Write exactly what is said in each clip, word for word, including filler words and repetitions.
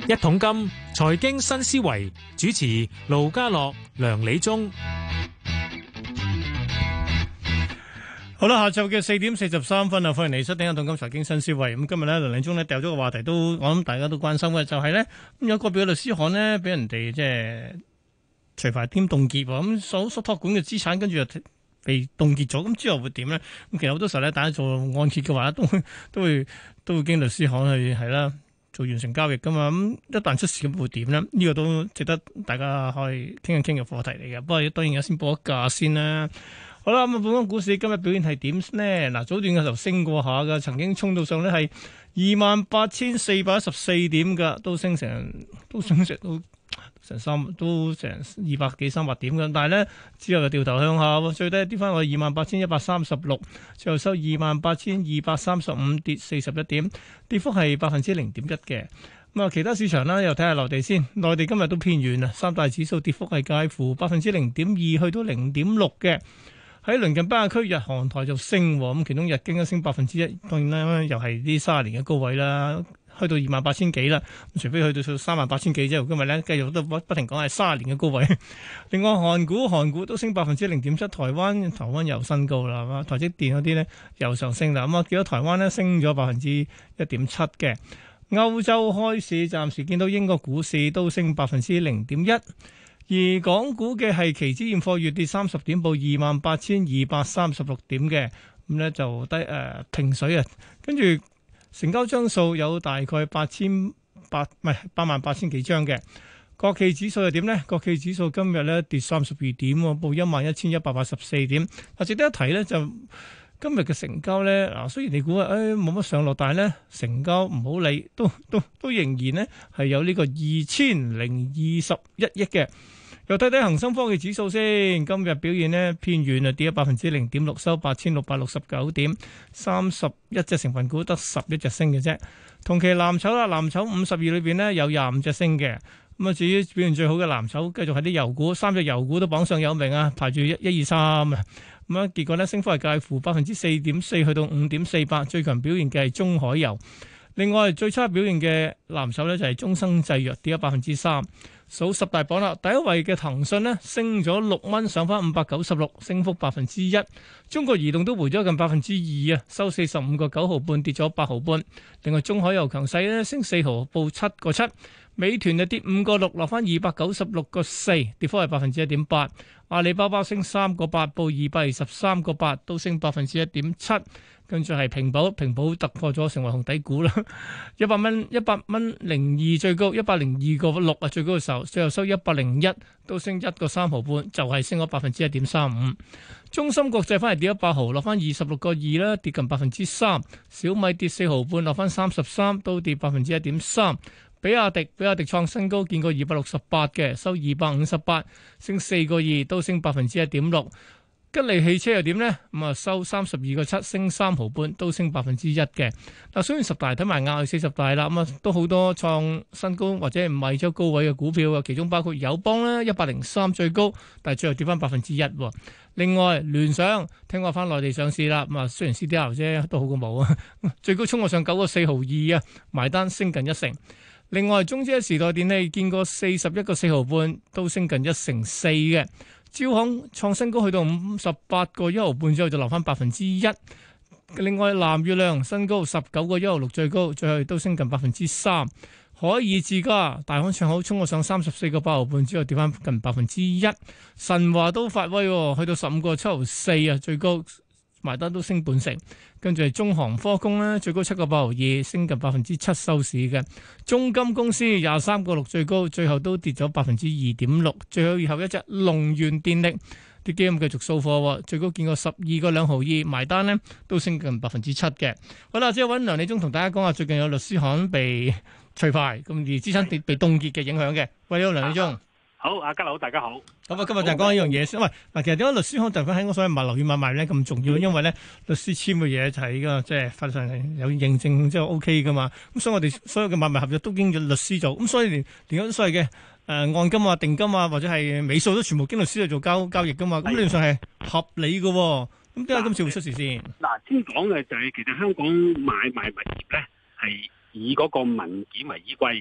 一桶金財經新思維主持盧家樂、梁理中。 好啦，下晝嘅四點四十三分啊，歡迎嚟收聽《一桶金財經新思維》。咁今日咧，梁理中咧掉咗個話題都，我諗大家都關心嘅，就係咧咁有個別嘅律師行咧，俾人哋即係除牌兼凍結，咁所所託管嘅資產跟住就被凍結咗，咁之後會點咧？咁其實好多時候咧，大家做按揭嘅話，都會都會都會經律師行去係啦，做完成交易噶嘛。咁一旦出事咁會點咧？呢個都值得大家可以傾一傾嘅課題嚟嘅。不過當然有先報一價先啦。好啦，咁啊，本港股市今日表現係點呢？嗱，早段嘅時候升過下嘅，曾經衝到上咧係二萬八千四百一十四點嘅，都升成都升成都。成三都成二百幾三百點嘅，但係咧之後就掉頭向下，最低跌翻去二萬八千一百三十六，最後收二萬八千二百三十五，跌四十一點，跌幅係百分之零點一嘅。咁啊，其他市場啦，又睇下內地先，內地今日都偏軟啊，三大指數跌幅係介乎百分之零點二去到零點六嘅。喺鄰近北亞區，日韓台就升，咁其中日經都升百分之一，當然啦，又係啲卅年嘅高位啦。去到二萬八千幾啦，除非去到三萬八千幾啫。今日咧繼續都不不停講係三十年嘅高位。另外韓股韓股都升百分之零點七，台灣台灣又新高啦，係嘛？台積電嗰啲咧又上升啦。咁啊，見到台灣咧升咗百分之一點七嘅。歐洲開市暫時見到英國股市都升百分之零點一，而港股嘅係期指現貨月跌三十點，報二萬八千二百三十六點嘅，咁咧就低誒、呃、平水啊，跟住。成交張數有大概八千八唔係八萬八千幾張嘅。國企指數又點呢？國企指數今日咧跌三十二點，報一萬一千一百八十四點。啊，值得一提咧就今日嘅成交咧，嗱雖然你估啊，誒冇乜上落，但係咧成交唔好理，都都都仍然咧係有呢個二千零二十一億嘅。又睇睇恒生科技指數先，今日表現呢偏軟啊，跌咗百分之零點六，收八千六百六十九點，三十一隻成分股得十一隻升嘅啫。同期藍籌啦，藍籌五十二裏邊呢有廿五隻升嘅。咁啊，至於表現最好嘅藍籌，繼續係啲油股，三隻油股都榜上有名啊，排住一、一二三啊。咁啊，結果呢升幅係介乎百分之四點四去到五點四八，最強表現嘅係中海油。另外最差表現嘅藍籌呢就係中生製藥，跌咗百分之三。數十大榜啦，第一位嘅騰訊呢升咗六蚊，上翻五百九十六，升幅百分之一。中國移動都回咗近百分之二啊，收四十五個九毫半，跌咗八毫半。另外中海油強勢呢升四毫，報七個七。美團就跌五個六，落翻二百九十六個四，跌幅係百分之一點八。阿里巴巴升三個八，報二百二十三個八，都升百分之一點七。跟住係平保，平保突破咗成為紅底股啦，一百蚊，一百蚊零二最高，一百零二個六啊最高嘅時候，最後收一百零一，都升一個三毫半，就係、是、升咗百分之一點三五。中芯國際翻嚟跌咗八毫，落翻二十六個二啦，跌近百分之三。小米跌四毫半，落翻三十三，都跌百分之一點三。比亞迪，比亞迪創新高，見過二百六十八嘅，收二百五十八，升四個二，都升百分之一點六。吉利汽車又點呢？咁啊收三十二個七，升三毫半，都升百分之一嘅。嗱，雖然十大睇埋亞四十大啦，咁啊都好多創新高或者唔係咗高位嘅股票啊，其中包括友邦咧，一百零三最高，但係最後跌翻百分之一。另外聯想聽話翻內地上市啦，咁啊雖然 C D R 啫，都好過冇啊，最高衝過上九個四毫二啊，埋單升近一成。另外中資時代電器見過四十一個四毫半，都升近一成四嘅。招行創新高去到五十八個一毫半之後就留翻百分之一。另外藍月亮新高十九個一毫六最高，最後都升近百分之三。海爾智家大行唱好衝過上三十四個八毫半之後跌翻近百分之一。神華都發威，去到十五個七毫四啊最高。埋單都升半成，跟住係中航科工咧，最高七個八毫二，升近百分之七收市嘅。中金公司廿三個六最高，最後都跌咗百分之二點六。最後以後一隻龍源電力啲基金繼續掃貨，最高見過十二個兩毫二，埋單咧都升近百分之七嘅。好啦，之後揾梁理中同大家講下最近有律師行被除牌，咁而資產被被凍結嘅影響嘅。喂，好，梁理中。 好，阿家佬，大家好。 咁啊，今日就講一樣嘢先。喂，嗱，其實點解律師行就喺我所謂物流與買賣咧咁重要？因為咧，律師簽嘅嘢就係個即係法律上係有認證，即係 O K 噶嘛。咁所以我哋所有嘅買賣合約都經咗律師做。咁所以連連嗰所謂嘅誒按金啊、定金啊，或者係尾數都全部經律師去做交交易噶嘛。咁理論上係合理嘅。咁點解今次會出事先？ 嗱，先講嘅就係其實香港買賣物業咧係以嗰個文件為依歸嘅。即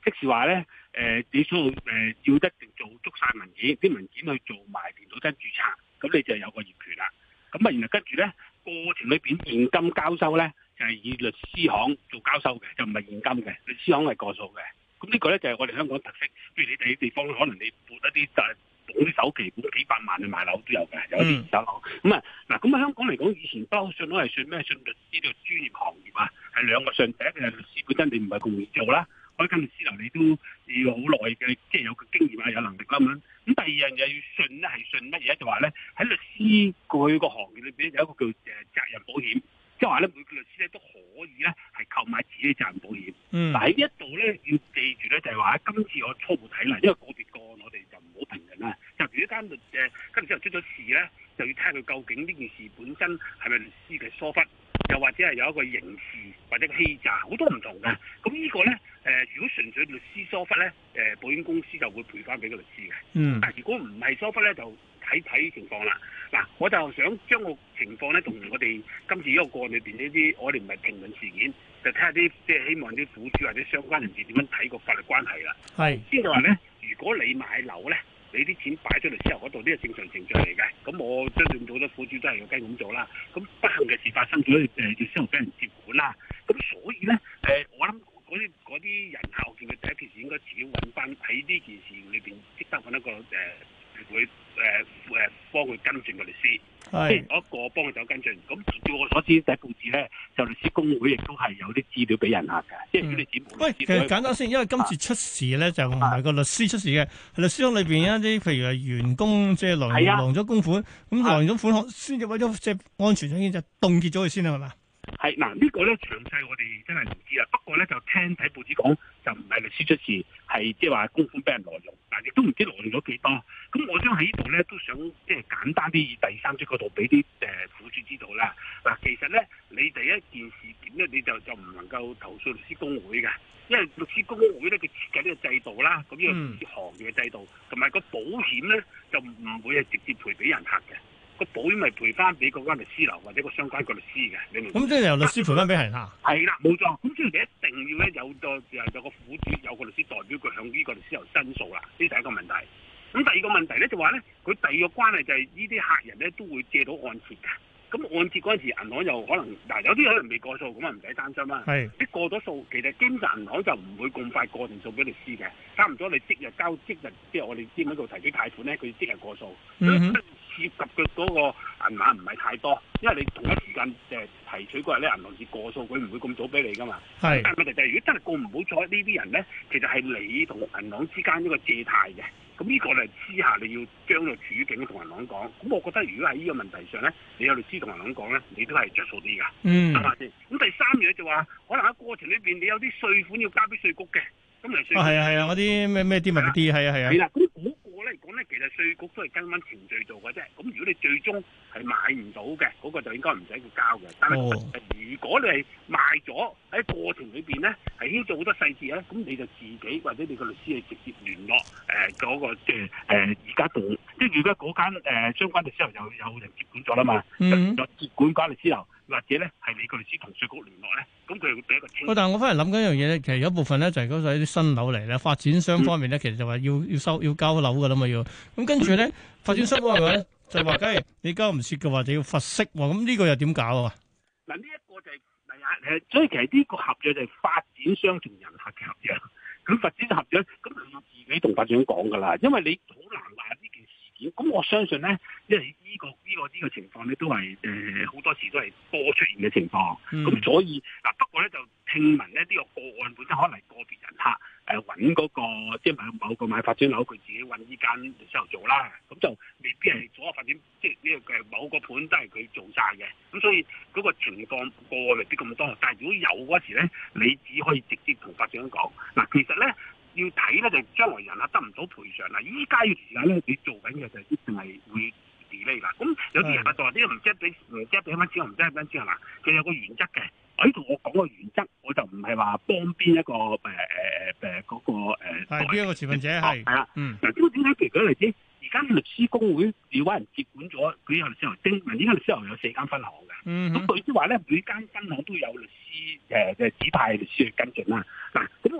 即是話咧，誒你所有誒要一定做足晒文件，啲文件去做埋電腦登註冊，咁你就有個業權啦。咁啊，然後跟住咧過程裏邊現金交收咧，就係、是、以律師行做交收嘅，就唔係現金嘅，律師行係過數嘅。咁呢個咧就係、是、我哋香港特色。譬如你哋啲地方可能你撥一啲就係攞啲首期，撥幾百萬去買樓都有嘅，有啲二手樓。咁啊嗱，咁啊香港嚟講，以前包信都係信咩？信律師呢個專業行業啊，係兩個信。第一個係律師本身你唔係咁容易做啦。開間律師樓你都要好耐嘅，即係有個經驗啊，有能力啦咁。咁第二樣嘢要信咧，係信乜嘢？就話咧喺律師過去個行業裏邊有一個叫誒責任保險，即係話咧每個律師咧都可以咧係購買自己責任保險。 嗯， 但喺呢一度咧要記住咧，就係話喺今次我初步睇嚟，因為個別個案我哋就唔好評論啦。就如果間律誒跟住之後出咗事咧，就要睇下佢究竟呢件事本身係咪律師嘅疏忽。又或者係有一個刑事或者欺詐，好多唔同嘅。咁呢個咧，誒、呃，如果純粹律師疏忽咧，誒、呃，保險公司就會賠翻俾個律師嘅。 嗯。 但係如果唔係疏忽咧，就睇睇情況啦。嗱，我就想將個情況咧，同我哋今次呢個個案裏邊呢啲，我哋唔係評論事件，就睇下啲即係希望啲苦主或者相關人士點樣睇個法律關係啦。 係。 先就話咧，如果你買樓咧，你啲錢擺咗律師樓嗰度，呢個正常程序嚟嘅。咁我相信好多苦主都係要跟咁做啦。咁不幸嘅事發生咗，誒律師樓俾人接管啦。咁所以咧，誒、呃、我諗嗰啲嗰啲人客，我見佢第一件事應該自己揾翻喺呢件事裏邊，即得揾一個誒、呃、會誒誒幫佢跟進嘅律師。即係一個幫佢走跟進。咁據我所知，第一報紙咧就律師公會亦都係有啲資料俾人客嘅。即係如果你指冇喂，其實簡單先，因為今次出事咧就唔係個律師出事嘅，係律師行裏邊一啲譬如係員工即係攔攔咗公款，咁攔咗款項先至為咗即係安全起見就凍結咗佢先啦，係嘛？ 係嗱，呢個咧詳細我哋真係唔知啦。不過咧就聽睇報紙講，就唔係律師出事，係即係話公款俾人挪用，但亦都唔知挪用咗幾多。咁我想喺呢度咧都想即係簡單啲以第三者角度俾啲誒苦主知道啦。嗱，其實咧你第一件事件咧你就就唔能夠投訴律師公會嘅，因為律師公會咧佢設計呢個制度啦，咁呢個行業嘅制度同埋個保險咧就唔會係直接賠俾人客嘅。個保險咪賠翻俾嗰間律師樓或者個相關個律師嘅，你明唔明？咁即係由律師賠翻俾人嚇。係啦，冇錯。咁所以你一定要咧有個有個苦主有個律師代表佢向呢個律師樓申訴啦，呢第一個問題。咁第二個問題咧就話咧，佢第二個關係就係呢啲客人咧都會借到按揭嘅。咁按揭嗰陣時，銀行又可能嗱有啲可能未過數，咁啊唔使擔心啦。係，啲過咗數，其實基本上銀行就唔會咁快過定數俾律師嘅，差唔多你即日交即日，即係我哋知喺度提起貸款咧，佢即日過數。嗯涉及嘅嗰個銀碼唔係太多，因為你同一時間誒提取嗰日咧，銀行至過數，佢唔會咁早俾你噶嘛。係，但係問題就係、是、如果真係過唔好彩呢啲人咧，其實係你同銀行之間一個借貸嘅，咁呢個咧之下你要將個處境同銀行講。咁我覺得如果喺呢個問題上咧，你有律師同銀行講咧，你都係着數啲㗎。嗯，係咪先？咁第三樣就話，可能喺過程裏邊你有啲稅款要交俾稅局嘅，咁嚟稅。啊，係啊係啊，嗰啲咩咩啲物啲係啊係啊。係啦，咁嗰個咧嚟講咧，其實稅局都係跟翻程序做嘅啫。咁如果你最終係買唔到嘅，嗰、那個就應該唔使佢交嘅。但係、哦、如果你係賣咗喺過程裏邊咧，係牽涉好多細節咧，咁你就自己或者你個律師係直接聯絡誒嗰、呃那個即係誒而家同即係如果嗰間誒、呃、相關律師樓有有人接管咗啦嘛，嗯，就接管間律師樓，或者咧係你個律師同稅局聯絡咧，咁佢會俾一個清。喂，但係我翻嚟諗緊一樣嘢咧，其實有一部分咧就係嗰啲新樓嚟咧，發展商方面咧、嗯、其實就話要要收要交樓噶啦嘛要，咁跟住咧、嗯、發展商方面咧就話，梗係你交唔切嘅話就要罰息喎，咁呢個又點搞啊？嗱，呢一個就係第一誒，所以其實呢個合約就係發展商同人客嘅合約，咁發展合約咁你要自己同發展商講噶啦，因為你好難話呢件事件，咁我相信咧，因為呢、這個呢、這個呢、這個情況咧都係誒好多時都係多出現嘅情況，咁、嗯、所以嗱不過咧就聽聞咧呢、這個個案本身可能係個別人客。誒揾嗰個即係某某個買發展樓，佢自己揾呢間律師樓做啦，咁就未必係所有發展，即係呢個嘅某個盤都係佢做晒嘅，咁所以嗰個情況個案未必咁多。但係如果有嗰時咧，你只可以直接同發展商講。嗱，其實咧要睇咧就將來人客得唔到賠償啦。依家嘅時間咧，你做緊嘅就一定係會 delay 啦。咁有啲人客就話：呢個唔知俾唔知俾翻錢，我唔知俾翻錢係嘛？佢有個原則嘅。我呢度我講個原則，我就唔係話幫邊一個誒誒誒誒嗰個誒係邊一個持份者係係啦，嗯嗱，咁點解？譬如舉例子，而家律師公會要揾人接管咗，佢有律師樓精，嗱，依家律師樓有四間分行嘅，咁佢即係話咧，每間分行都有律師誒嘅指派律師去跟進啦。嗱，咁我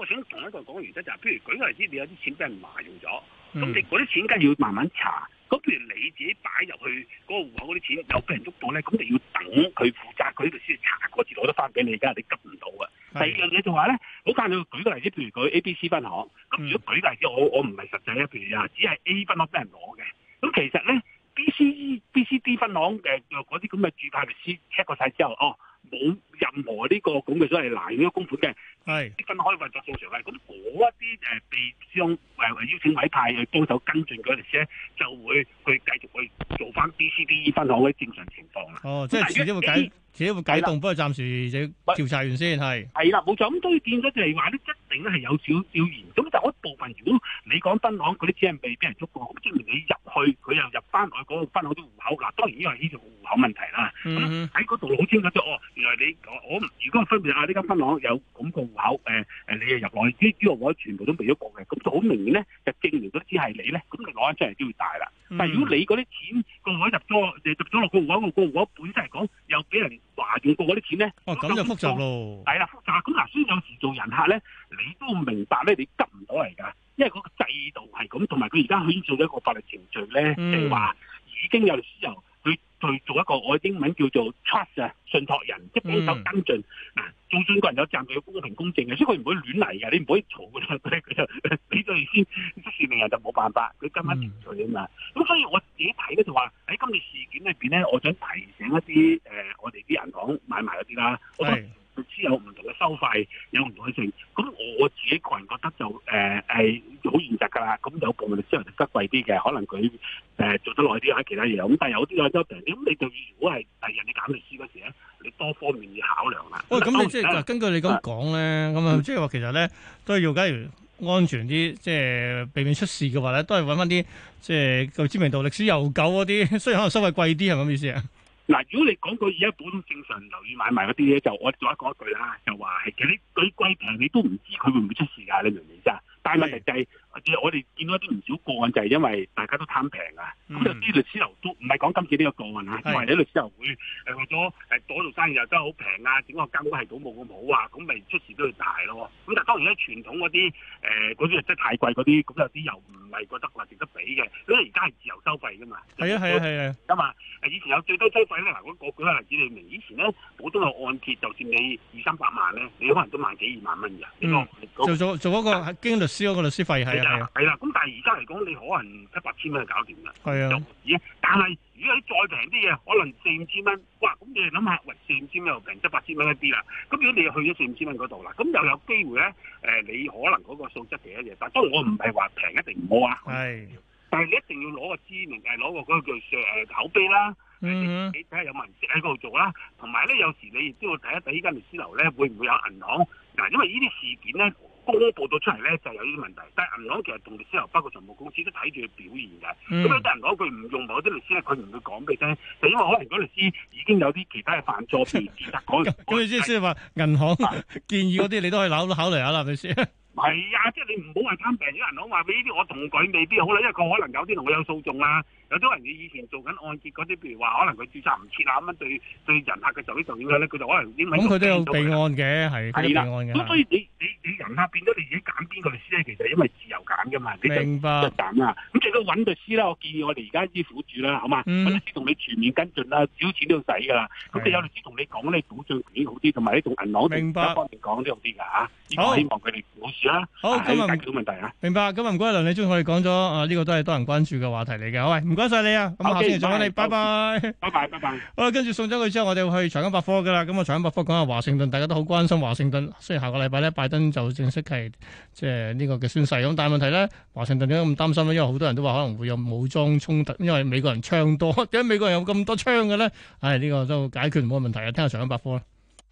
想同一個講嘅原則就係、是，譬如舉個例子，你有啲錢俾人挪用咗，咁、 嗯、 你嗰啲錢梗係要慢慢查。咁譬如你自己擺入去嗰個戶口嗰啲錢又俾人捉到咧，咁你要等佢負責佢呢度先查過至攞得翻俾你，而家你急唔到嘅。第二樣嘢就話咧，好簡單，舉個例子，譬如佢 A、B、C 分行，咁如果舉個例子，我我唔係實際啊，譬如啊，只係 A 分行俾人攞嘅，咁其實咧 B、C、B、C、D 分行嘅嗰啲咁嘅註冊律師 check 過晒之後，哦，冇任何呢個咁嘅所謂攔咗公款嘅，係啲分行可以運作正常嘅，咁嗰一啲誒被將誒邀請委派去幫手跟進嗰陣時咧，就會去繼續去做翻 B、C、D 分行嘅正常情況啦。哦， 即係遲啲會解，遲啲會解凍，不過暫時就調查完先係。係啦，冇錯。咁所以變咗就係話咧，一定咧係有少少嚴。咁就嗰部分，如果你講分行嗰啲錢係未俾人捉過，咁證明你入去佢又入翻去嗰個分行啲戶口。嗱，當然呢個係呢個戶口問題啦。咁喺嗰度好清楚咗，哦，原來你我如果分別啊呢間分行有咁個戶口，誒誒你又入落去，呢啲我全部都未咗過嘅，咁就好明顯咧，就證明咗只係你咧，咁你攞翻出嚟都要大啦。但係如果你嗰啲錢個戶口入咗，入咗落個戶口，個戶口本身嚟講又俾人話用過嗰啲錢咧， 哦咁就複雜咯。係啦，複雜。咁嗱，所以有時做人客咧，你都明白咧，你急唔到嚟㗎，因為嗰個制度係咁，同埋佢而家牽涉咗一個法律程序咧，即係話已經有律師由佢去做一個我英文叫做 trust 啊，信託人，即係幫手跟進嗱。嗯做信個人有責任要公平公正嘅，所以佢唔會亂嚟嘅，你唔可以嘈佢，佢就俾咗你先，即係令人就冇辦法，佢跟翻程序啊嘛。咁、嗯、所以我自己睇咧就話喺今次事件裏邊咧，我想提醒一啲誒、呃，我哋啲銀行買賣嗰啲啦，我覺得律師有唔同嘅收費，有唔同嘅性。咁我自己個人覺得就誒係好現實㗎啦。咁有部分律師係得貴啲嘅，可能佢誒、呃、做得耐啲喺其他嘢，咁但係有啲有周平啲。咁你對如果係第日你揀律師嗰時咧，你多方面要考量啦。喂，咁你即係根據你咁講咧，咁啊，即係話其實咧都係要假如安全啲，即係避免出事嘅話咧，都係揾翻啲即係個知名度歷史悠久嗰啲，雖然可能收費貴啲，係咪咁意思啊？嗱，如果你講過而家普通正常樓宇買賣嗰啲咧，就我再講一句啦，就話係其實你佢貴平，你都唔知佢會唔會出事㗎，你明唔明啫？但係問題就係、是，我哋見到一啲唔少個案，就係因為大家都貪平啊。咁、嗯、有啲律師樓都唔係講今次呢個個案啊，因為啲律師樓會誒為咗誒嗰度生意又真係好平啊，整個監管系統冇咁好啊，咁咪出事都要大咯。咁但係當然咧，傳統嗰啲誒嗰啲真係太貴嗰啲，咁有啲又唔係覺得話值得俾嘅，因為而家係自由收費㗎嘛。係啊係啊係啊。咁嘛，以前有最低收費咧，嗱，我我舉個例子你明，以前咧普通嘅按揭，就算你二三百萬咧，你可能都萬幾二萬蚊㗎。嗯。做做做嗰個經律師嗰個律師費係啊係啦，咁但係而家嚟講，你可能七八千蚊就搞掂啦。係啊，但係如果你再平啲嘢，可能四五千蚊，哇！咁你諗下，喂，四五千蚊又平七八千蚊一啲啦。咁如果你去咗四五千蚊嗰度啦，咁又有機會咧，誒、呃，你可能嗰個素質其一嘢。但係當然我唔係話平一定唔好啊。係，但係你一定要攞個知名，誒，攞個嗰個叫誒口碑啦。嗯，你睇下有冇人識喺嗰度做啦。同埋咧，有時你亦都要睇一睇呢間律師樓咧，會唔會有銀行嗱？因為呢啲事件咧，公佈到出嚟咧就有呢啲問題，但係銀行其實同律師樓包括財務公司都睇住佢表現嘅。咁有啲銀行佢唔用某啲律師咧，佢唔會講俾你聽，就因為可能嗰律師已經有啲其他嘅犯錯，譬如其他講。咁你即係即係話銀行建議嗰啲，你都可以考考慮下啦，係咪先？係啊，即係你唔好話貪平，啲銀行話俾呢啲我同佢未必好啦，因為佢可能有啲同佢有訴訟啦。有啲人佢以前做緊按揭嗰啲，譬如話可能佢註冊唔切啊咁樣，對對人客嘅受益受影響咧，佢就可能英文咁佢都有備案嘅，係係啦。咁所以你你你人客變咗你自己揀邊個律師咧，其實因為自由揀噶嘛，你就明白就揀啦。咁最多揾律師啦，我建議我哋而家啲苦主啦，好嘛？揾律師同你全面跟進啦，少錢都要使噶啦。咁你有律師同你講咧，保障權好啲，同埋你同銀行明白方面講都好啲噶嚇。好，希望佢哋冇事啦。好，今日解決到問題啊。明白，今日唔該梁理中，我哋講咗啊，呢個都係多人關注嘅話題嚟嘅。好，喂，唔該曬你啊。咁下星期再揾你，拜拜，拜拜，拜拜。好啦，跟住送走佢之後，我哋去財經百科噶啦。咁啊，財經百科講下華盛頓，大家都好關心華盛頓。雖然下個禮拜咧，拜登就正式係即係呢個嘅宣誓。咁但係問題咧，華盛頓點解咁擔心咧？因為好多人都話可能會有武裝衝突，因為美國人槍多。點解美國人有咁多槍嘅咧？唉，呢個都解決唔到問題啊！聽下財經百科啦。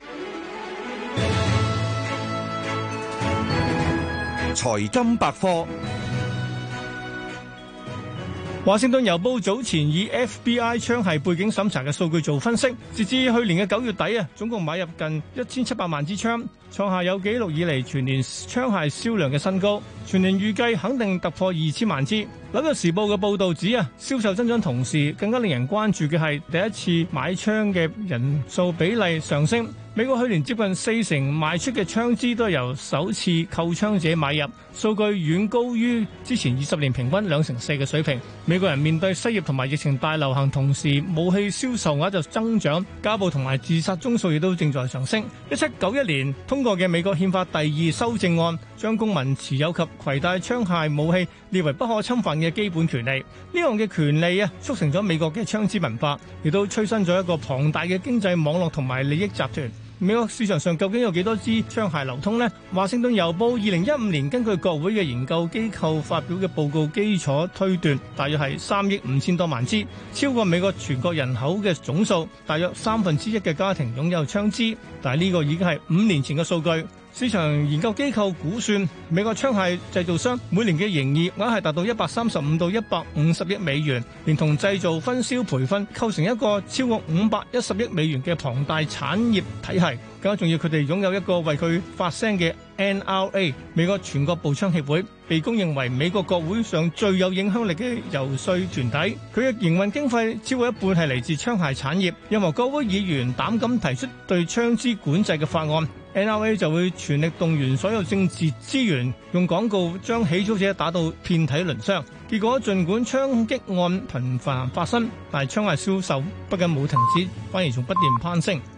財金百科。華盛頓郵報早前以 F B I 槍械背景審查嘅數據做分析，截至去年嘅九月底啊，總共買入近一千七百萬支槍，創下有紀錄以嚟全年槍械銷量嘅新高。全年預計肯定突破二千萬支。 紐約時報嘅報導指啊，銷售增長同時，更加令人關注嘅係第一次買槍嘅人數比例上升。美國去年接近四成賣出嘅槍支都係由首次購槍者買入，數據遠高於之前二十年平均兩成四嘅水平。美國人面對失業同埋疫情大流行，同時武器銷售額就增長，家暴同埋自殺宗數亦都正在上升。一七九一年通過嘅美國憲法第二修正案，將公民持有及攜帶槍械武器列為不可侵犯嘅基本權利。呢樣嘅權利啊，促成咗美國嘅槍支文化，亦都催生咗一個龐大嘅經濟網絡同埋利益集團。美國市場上究竟有幾多支槍械流通呢？華盛頓郵報二零一五年根據國會嘅研究機構發表嘅報告基礎推斷，大約係三億五千多萬支，超過美國全國人口嘅總數。大約三分之一嘅家庭擁有槍支，但係呢個已經係五年前嘅數據。市場研究機構估算，美國槍械製造商每年嘅營業額係達到一百三十五到一百五十億美元，連同製造、分銷、培訓，構成一個超過五百一十億美元嘅龐大產業體系。更加重要，佢哋擁有一個為佢發聲嘅 N R A 美國全國步槍協會，被公認為美國國會上最有影響力嘅遊說團體。佢嘅營運經費超過一半係嚟自槍械產業。任何國會議員膽敢提出對槍支管制嘅法案，N R A 就會全力動員所有政治資源，用廣告將起訴者打到遍體鱗傷。結果，儘管槍擊案頻繁發生，但係槍械銷售不僅冇停止，反而仲不斷攀升。